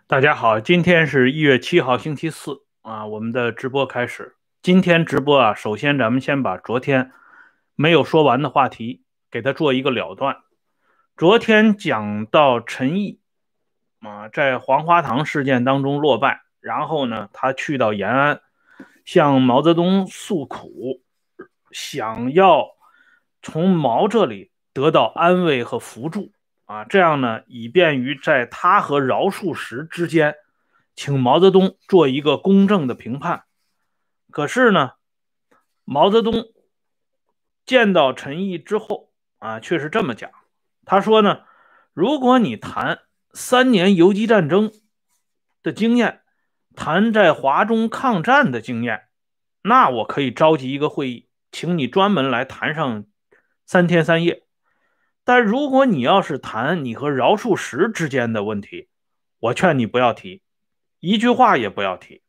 大家好，今天是1月7号，星期四啊，我们的直播开始。今天直播啊，首先咱们先把昨天没有说完的话题给它做一个了断。昨天讲到陈毅啊，在黄花岗事件当中落败，然后呢，他去到延安，向毛泽东诉苦，想要从毛这里得到安慰和扶助。这样呢，以便于在他和饶漱石之间，请毛泽东做一个公正的评判。可是呢，毛泽东见到陈毅之后却是这么讲，他说呢，如果你谈3年游击战争的经验，谈在华中抗战的经验，那我可以召集一个会议，请你专门来谈上3天3夜。但如果你要是谈你和饶漱石之间的问题，我劝你不要提，一句话也不要提。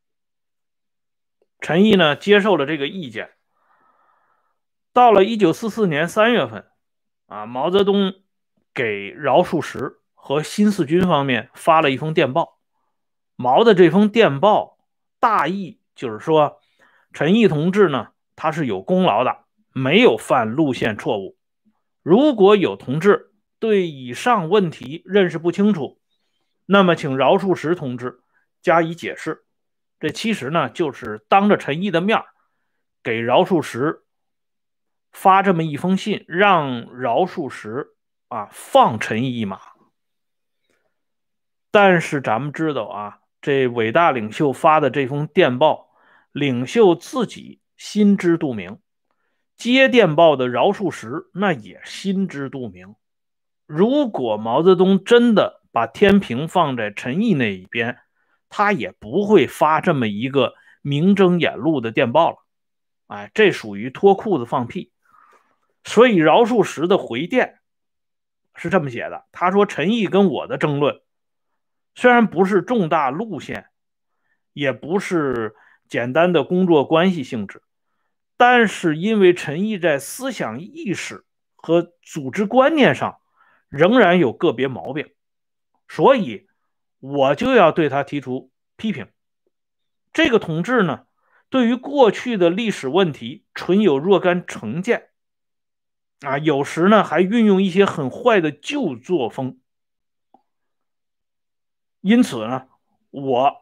陈毅呢接受了这个意见。到了1944年3月份毛泽东给饶漱石和新四军方面发了一封电报。毛的这封电报大意就是说，陈毅同志呢他是有功劳的，没有犯路线错误。如果有同志对以上问题认识不清楚，那么请饶漱石同志加以解释。这其实呢就是当着陈毅的面给饶漱石发这么一封信，让饶漱石放陈毅一马。但是咱们知道这伟大领袖发的这封电报，领袖自己心知肚明，接电报的饶漱石那也心知肚明。如果毛泽东真的把天平放在陈毅那一边，他也不会发这么一个明睁眼露的电报了。这属于脱裤子放屁。所以饶漱石的回电是这么写的，他说陈毅跟我的争论虽然不是重大路线，也不是简单的工作关系性质，但是因为陈毅在思想意识和组织观念上仍然有个别毛病，所以我就要对他提出批评。这个同志呢，对于过去的历史问题存有若干成见有时呢还运用一些很坏的旧作风。因此呢，我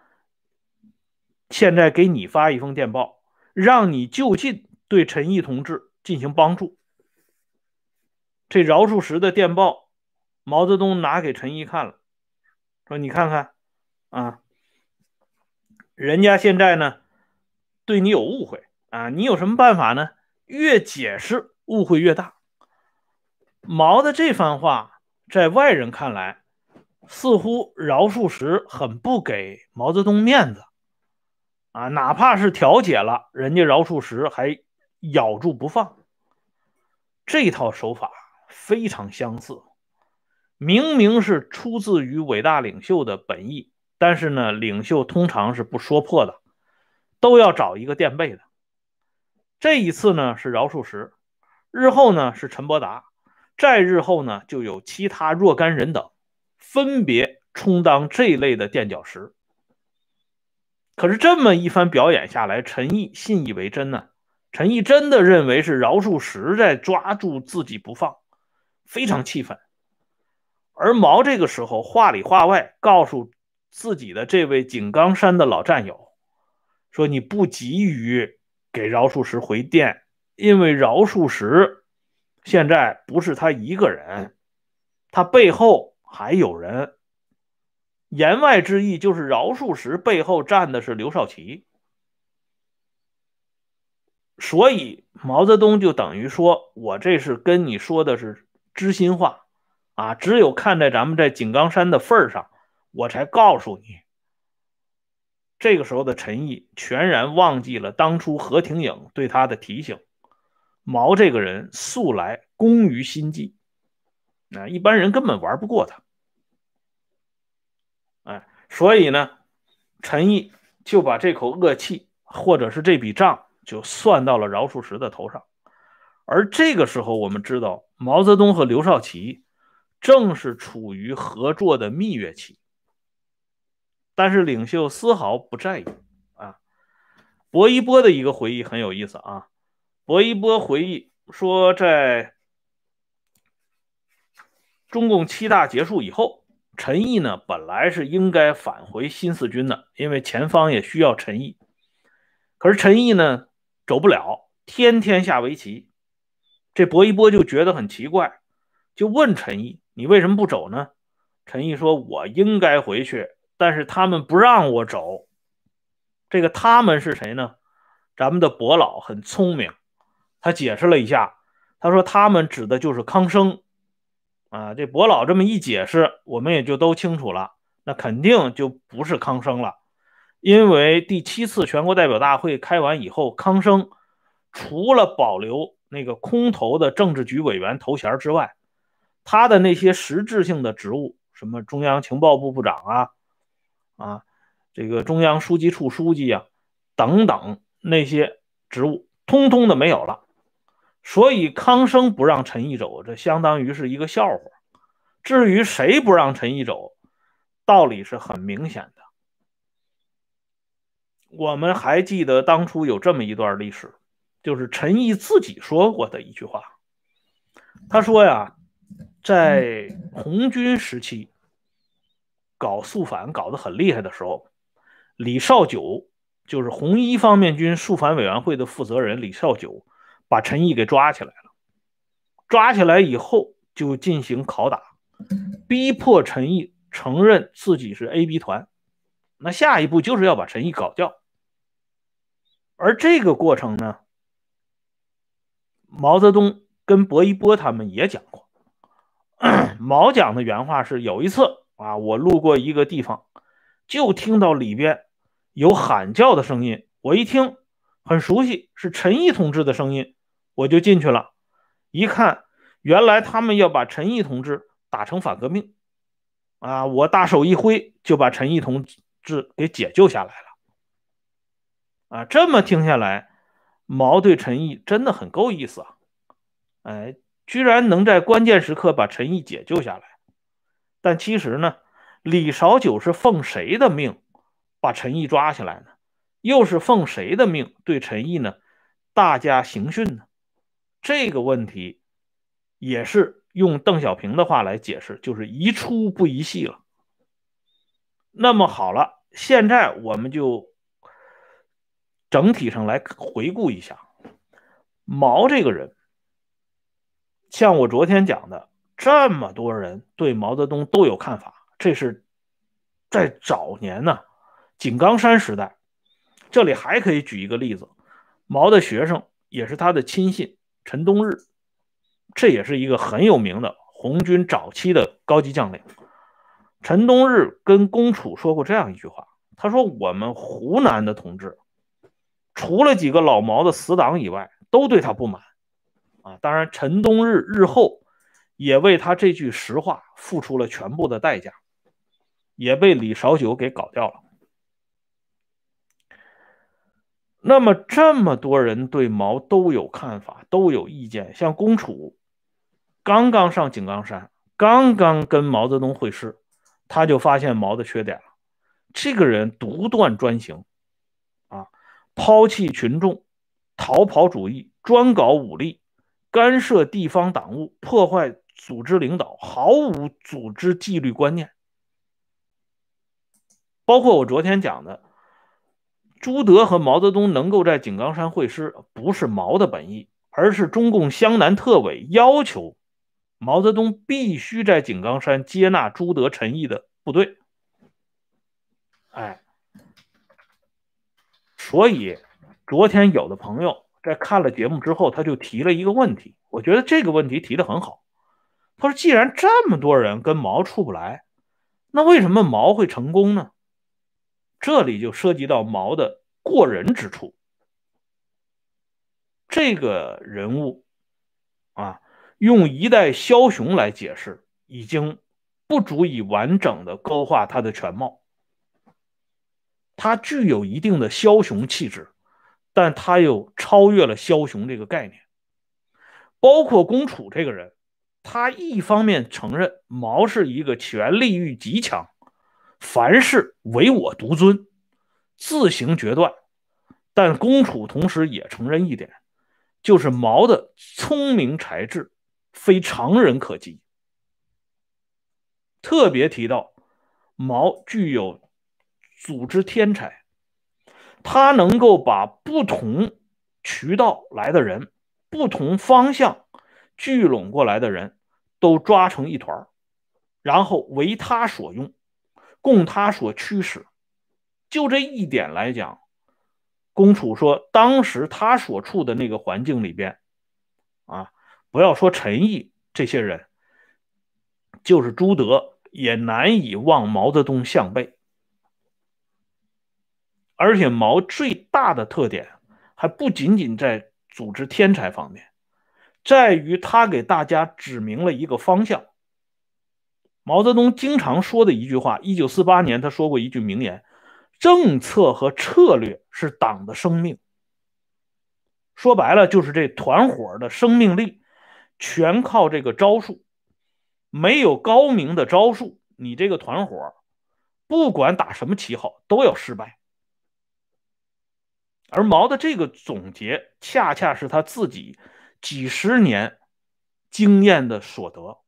现在给你发一封电报，让你就近对陈毅同志进行帮助。这饶漱石的电报，毛泽东拿给陈毅看了，说你看看人家现在呢对你有误会你有什么办法呢？越解释误会越大。毛的这番话在外人看来，似乎饶漱石很不给毛泽东面子哪怕是调解了，人家饶漱石还咬住不放。这套手法非常相似，明明是出自于伟大领袖的本意，但是呢，领袖通常是不说破的，都要找一个垫背的。这一次呢是饶漱石，日后呢是陈伯达，再日后呢就有其他若干人等，分别充当这类的垫脚石。可是这么一番表演下来，陈毅信以为真呢。陈毅真的认为是饶漱石在抓住自己不放，非常气愤。而毛这个时候话里话外告诉自己的这位井冈山的老战友，说你不急于给饶漱石回电，因为饶漱石现在不是他一个人，他背后还有人。言外之意就是饶漱石背后站的是刘少奇。所以毛泽东就等于说，我这是跟你说的是知心话只有看在咱们在井冈山的份上，我才告诉你。这个时候的陈毅全然忘记了当初何挺颖对他的提醒。毛这个人素来工于心计一般人根本玩不过他所以呢，陈毅就把这口恶气或者是这笔账就算到了饶漱石的头上。而这个时候我们知道，毛泽东和刘少奇正是处于合作的蜜月期。 但是领袖丝毫不在意啊。薄一波的一个回忆很有意思啊，薄一波回忆说，在中共7大结束以后，陈毅呢本来是应该返回新四军的，因为前方也需要陈毅。可是陈毅呢走不了，天天下围棋。这薄一波就觉得很奇怪，就问陈毅：“你为什么不走呢？”陈毅说：“我应该回去，但是他们不让我走。”这个他们是谁呢？咱们的薄老很聪明，他解释了一下，他说他们指的就是康生啊。这薄老这么一解释，我们也就都清楚了，那肯定就不是康生了。因为第7次全国代表大会开完以后，康生除了保留那个空头的政治局委员头衔之外，他的那些实质性的职务，什么中央情报部部长这个中央书记处书记等等那些职务，通通的没有了。所以康生不让陈毅走，这相当于是一个笑话。至于谁不让陈毅走，道理是很明显的。我们还记得当初有这么一段历史，就是陈毅自己说过的一句话。他说呀，在红军时期搞肃反搞得很厉害的时候，李少九就是红一方面军肃反委员会的负责人，李少九把陈毅给抓起来了。抓起来以后就进行拷打，逼迫陈毅承认自己是 AB 团。那下一步就是要把陈毅搞掉。而这个过程呢，毛泽东跟薄一波他们也讲过。毛讲的原话是，有一次我路过一个地方，就听到里边有喊叫的声音，我一听很熟悉，是陈毅同志的声音，我就进去了。一看，原来他们要把陈毅同志打成反革命我大手一挥就把陈毅同志给解救下来了这么听下来，毛对陈毅真的很够意思居然能在关键时刻把陈毅解救下来。但其实呢，李少九是奉谁的命把陈毅抓起来呢？又是奉谁的命对陈毅呢大加刑讯呢？这个问题也是用邓小平的话来解释，就是一出不一戏了。那么好了，现在我们就整体上来回顾一下毛这个人。像我昨天讲的，这么多人对毛泽东都有看法，这是在早年井冈山时代。这里还可以举一个例子，毛的学生也是他的亲信陈东日，这也是一个很有名的红军早期的高级将领。陈东日跟龚楚说过这样一句话，他说我们湖南的同志除了几个老毛的死党以外，都对他不满当然陈东日日后也为他这句实话付出了全部的代价，也被李少九给搞掉了。那么这么多人对毛都有看法，都有意见，像龚楚刚刚上井冈山，刚刚跟毛泽东会师，他就发现毛的缺点了。这个人独断专行抛弃群众，逃跑主义，专搞武力，干涉地方党务，破坏组织领导，毫无组织纪律观念。包括我昨天讲的，朱德和毛泽东能够在井冈山会师，不是毛的本意，而是中共湘南特委要求毛泽东必须在井冈山接纳朱德、陈毅的部队。所以昨天有的朋友在看了节目之后，他就提了一个问题，我觉得这个问题提得很好。他说既然这么多人跟毛处不来，那为什么毛会成功呢？这里就涉及到毛的过人之处。这个人物用一代枭雄来解释已经不足以完整的勾画他的全貌。他具有一定的枭雄气质，但他又超越了枭雄这个概念。包括龚楚这个人，他一方面承认毛是一个权力欲极强、 凡事唯我独尊，自行决断。但龚楚同时也承认一点，就是毛的聪明才智非常人可及。特别提到毛具有组织天才，他能够把不同渠道来的人、不同方向聚拢过来的人都抓成一团，然后为他所用，供他所驱使。就这一点来讲，龚楚说，当时他所处的那个环境里边，啊，不要说陈毅这些人，就是朱德也难以望毛泽东项背。而且毛最大的特点还不仅仅在组织天才方面，在于他给大家指明了一个方向。毛泽东经常说的一句话，1948年他说过一句名言：政策和策略是党的生命。说白了就是这团伙的生命力全靠这个招数，没有高明的招数，你这个团伙不管打什么旗号都要失败。而毛的这个总结恰恰是他自己几十年经验的所得。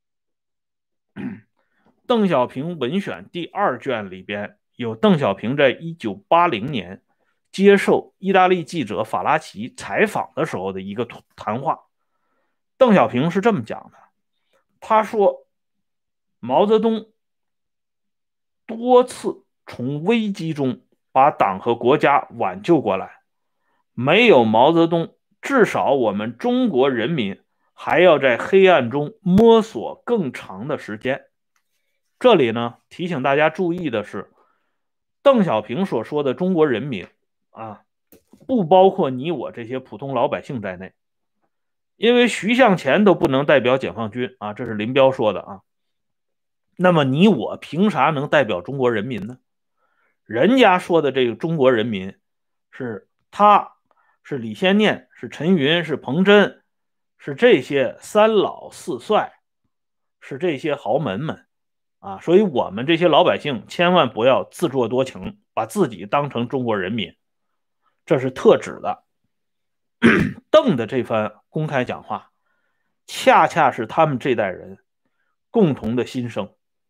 邓小平文选第2卷里边有邓小平在1980年接受意大利记者法拉奇采访的时候的一个谈话。邓小平是这么讲的，他说毛泽东多次从危机中把党和国家挽救过来，没有毛泽东，至少我们中国人民还要在黑暗中摸索更长的时间。这里呢，提醒大家注意的是，邓小平所说的中国人民啊，不包括你我这些普通老百姓在内，因为徐向前都不能代表解放军啊，这是林彪说的啊。那么你我凭啥能代表中国人民呢？人家说的这个中国人民是他，是李先念，是陈云，是彭真，是这些三老四帅，是这些豪门们啊，所以我们这些老百姓千万不要自作多情，把自己当成中国人民，这是特指的。邓的这番公开讲话，恰恰是他们这代人共同的心声。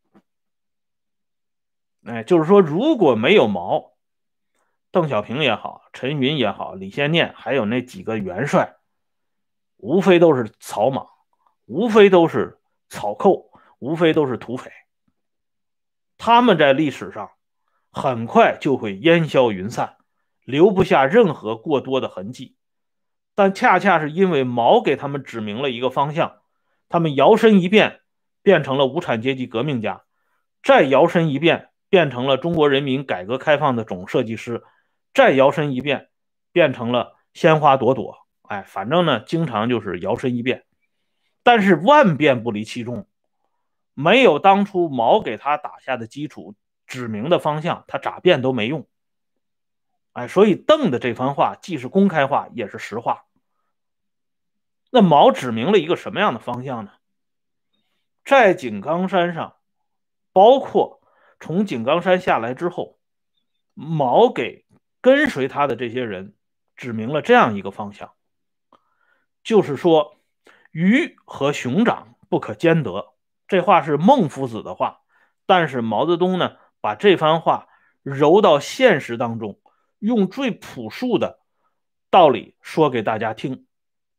就是说，如果没有毛，邓小平也好，陈云也好，李先念还有那几个元帅，无非都是草莽，无非都是草寇，无非都是土匪。他们在历史上很快就会烟消云散，留不下任何过多的痕迹。但恰恰是因为毛给他们指明了一个方向，他们摇身一变变成了无产阶级革命家，再摇身一变变成了中国人民改革开放的总设计师，再摇身一变变成了鲜花朵朵。反正呢，经常就是摇身一变，但是万变不离其宗，没有当初毛给他打下的基础，指明的方向，他咋变都没用。所以邓的这番话既是公开话，也是实话。那毛指明了一个什么样的方向呢？在井冈山上，包括从井冈山下来之后，毛给跟随他的这些人指明了这样一个方向，就是说鱼和熊掌不可兼得。这话是孟夫子的话，但是毛泽东呢，把这番话揉到现实当中，用最朴素的道理说给大家听。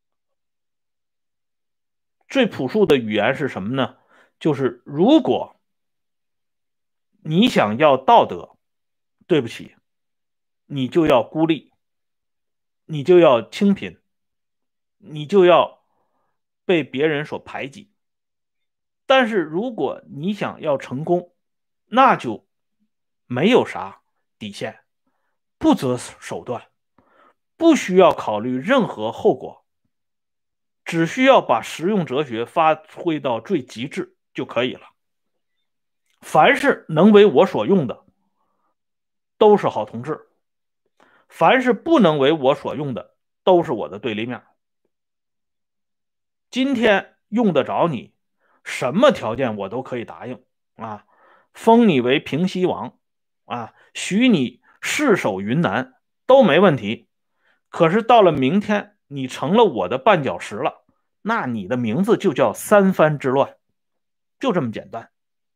最朴素的语言是什么呢？就是如果你想要道德，对不起，你就要孤立，你就要清贫，你就要被别人所排挤。但是如果你想要成功，那就没有啥底线，不择手段，不需要考虑任何后果，只需要把实用哲学发挥到最极致就可以了。凡是能为我所用的，都是好同志；凡是不能为我所用的，都是我的对立面。今天用得着你，什么条件我都可以答应啊！ 封你为平西王啊，许你世守云南都没问题。可是到了明天，你成了我的绊脚石了，那你的名字就叫三藩之乱，就这么简单。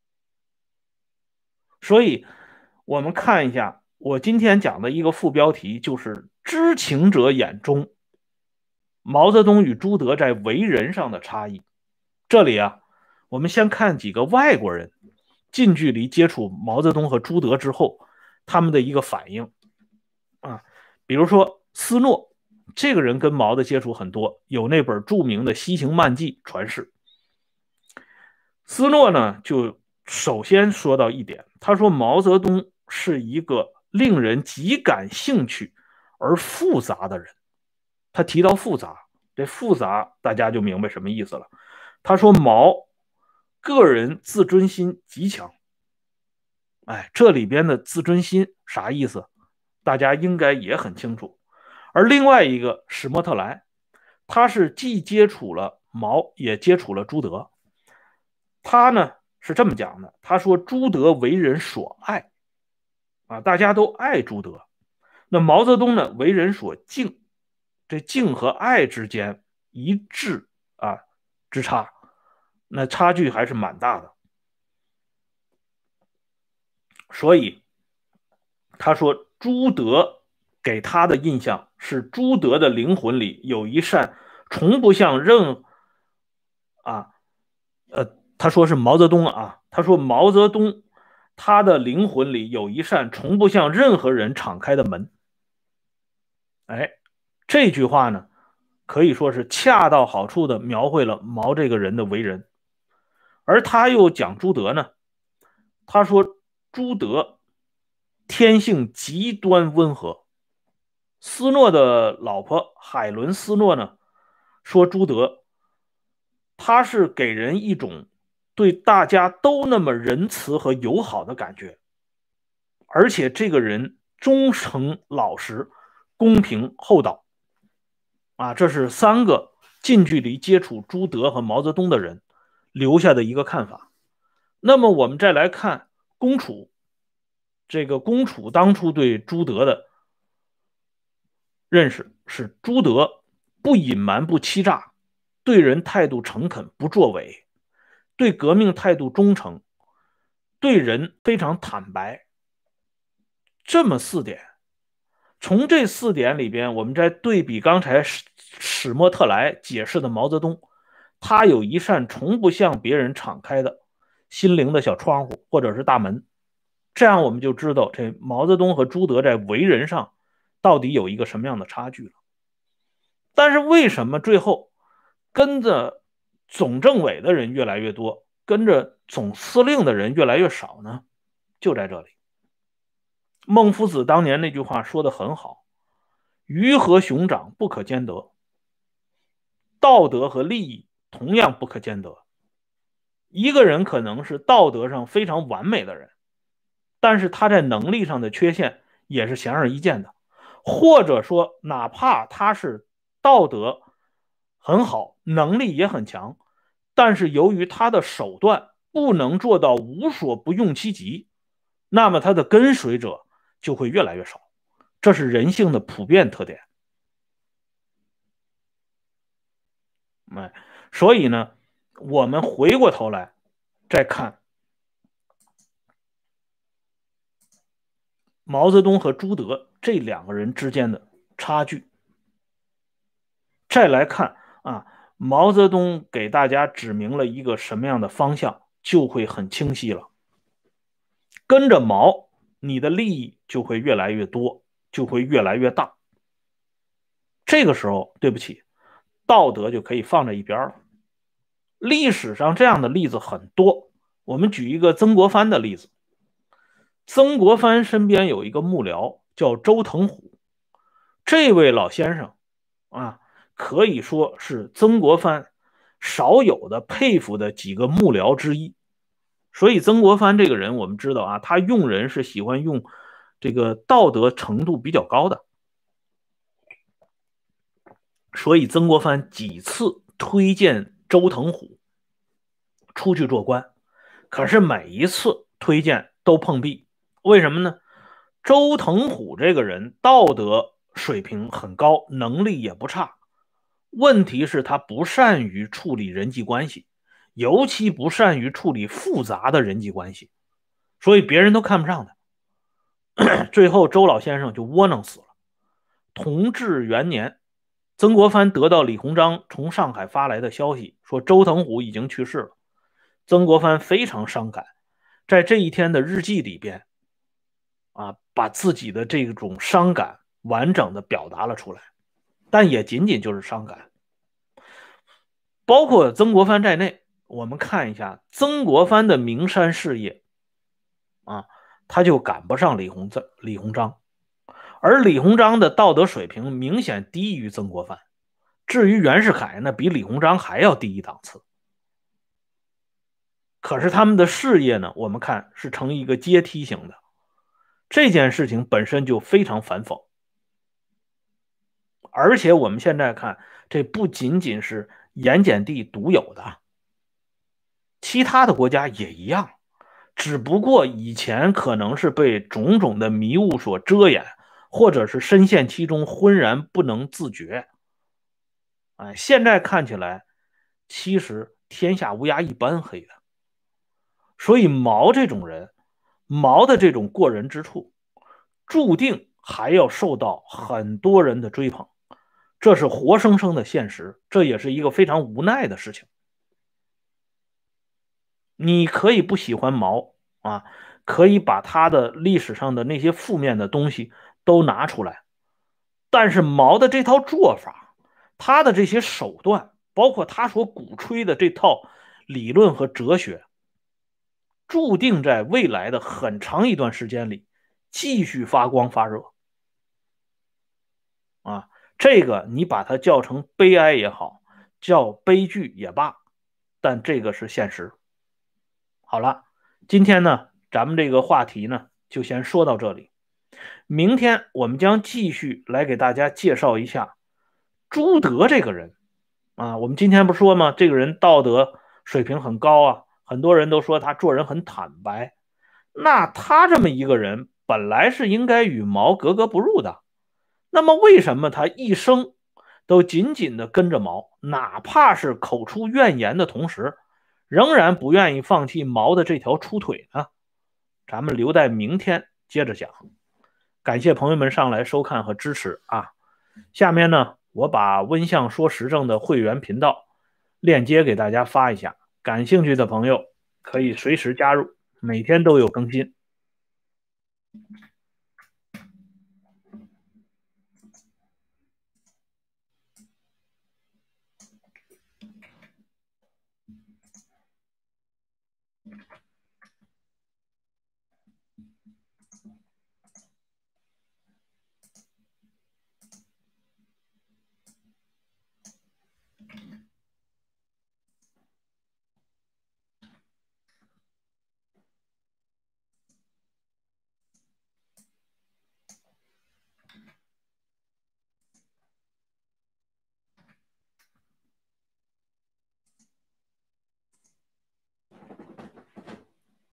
所以，我们看一下我今天讲的一个副标题，就是知情者眼中毛泽东与朱德在为人上的差异。这里啊，我们先看几个外国人近距离接触毛泽东和朱德之后，他们的一个反应啊。比如说斯诺，这个人跟毛的接触很多，有那本著名的《西行漫记》传世。斯诺呢，就首先说到一点，他说毛泽东是一个令人极感兴趣而复杂的人。他提到复杂，这复杂大家就明白什么意思了。他说毛个人自尊心极强。哎，这里边的自尊心啥意思？大家应该也很清楚。而另外一个史莫特莱，他是既接触了毛，也接触了朱德。他呢是这么讲的，他说朱德为人所爱啊，大家都爱朱德。那毛泽东呢为人所敬，这敬和爱之间一致啊之差，那差距还是蛮大的。所以他说朱德给他的印象是朱德的灵魂里有一扇从不向任啊他说是毛泽东啊，他说毛泽东他的灵魂里有一扇从不向任何人敞开的门。哎，这句话呢可以说是恰到好处的描绘了毛这个人的为人。而他又讲朱德呢，他说朱德天性极端温和。斯诺的老婆海伦斯诺呢说朱德他是给人一种对大家都那么仁慈和友好的感觉，而且这个人忠诚老实、公平厚道啊，这是三个近距离接触朱德和毛泽东的人留下的一个看法。那么我们再来看龚楚，这个龚楚当初对朱德的认识是朱德不隐瞒不欺诈，对人态度诚恳不作伪，对革命态度忠诚，对人非常坦白。这么四点，从这四点里边，我们再对比刚才史莫特莱解释的毛泽东，他有一扇从不向别人敞开的心灵的小窗户或者是大门，这样我们就知道这毛泽东和朱德在为人上到底有一个什么样的差距了。但是为什么最后跟着总政委的人越来越多，跟着总司令的人越来越少呢？就在这里。孟夫子当年那句话说得很好，鱼和熊掌不可兼得，道德和利益同样不可兼得。一个人可能是道德上非常完美的人，但是他在能力上的缺陷也是显而易见的，或者说哪怕他是道德很好，能力也很强，但是由于他的手段不能做到无所不用其极，那么他的跟随者就会越来越少，这是人性的普遍特点。所以呢，我们回过头来再看毛泽东和朱德这两个人之间的差距，再来看啊，毛泽东给大家指明了一个什么样的方向，就会很清晰了。跟着毛，你的利益就会越来越多，就会越来越大。这个时候，对不起，道德就可以放在一边了。历史上这样的例子很多，我们举一个曾国藩的例子。曾国藩身边有一个幕僚叫周腾虎，这位老先生啊，可以说是曾国藩少有的佩服的几个幕僚之一。所以曾国藩这个人，我们知道啊，他用人是喜欢用这个道德程度比较高的。所以曾国藩几次推荐周腾虎出去做官，可是每一次推荐都碰壁。为什么呢？周腾虎这个人道德水平很高，能力也不差，问题是他不善于处理人际关系，尤其不善于处理复杂的人际关系，所以别人都看不上他。最后周老先生就窝囊死了。同治元年，曾国藩得到李鸿章从上海发来的消息，说周腾虎已经去世了。曾国藩非常伤感，在这一天的日记里边，把自己的这种伤感完整的表达了出来，但也仅仅就是伤感。包括曾国藩在内，我们看一下曾国藩的名山事业他就赶不上李鸿章，而李鸿章的道德水平明显低于曾国藩。至于袁世凯呢，比李鸿章还要低一档次。可是他们的事业呢，我们看是呈一个阶梯型的，这件事情本身就非常反讽。而且我们现在看，这不仅仅是盐碱地独有的，其他的国家也一样，只不过以前可能是被种种的迷雾所遮掩，或者是深陷其中浑然不能自觉。现在看起来，其实天下乌鸦一般黑的。所以毛这种人，毛的这种过人之处，注定还要受到很多人的追捧，这是活生生的现实，这也是一个非常无奈的事情。你可以不喜欢毛可以把他的历史上的那些负面的东西都拿出来，但是毛的这套做法，他的这些手段，包括他所鼓吹的这套理论和哲学，注定在未来的很长一段时间里继续发光发热这个你把它叫成悲哀也好，叫悲剧也罢，但这个是现实。好了，今天呢，咱们这个话题呢就先说到这里。明天我们将继续来给大家介绍一下朱德这个人我们今天不说吗？这个人道德水平很高很多人都说他做人很坦白。那他这么一个人，本来是应该与毛格格不入的，那么为什么他一生都紧紧的跟着毛，哪怕是口出怨言的同时，仍然不愿意放弃毛的这条出腿呢？咱们留待明天接着讲。感谢朋友们上来收看和支持下面呢，我把温相说时政的会员频道链接给大家发一下，感兴趣的朋友可以随时加入，每天都有更新。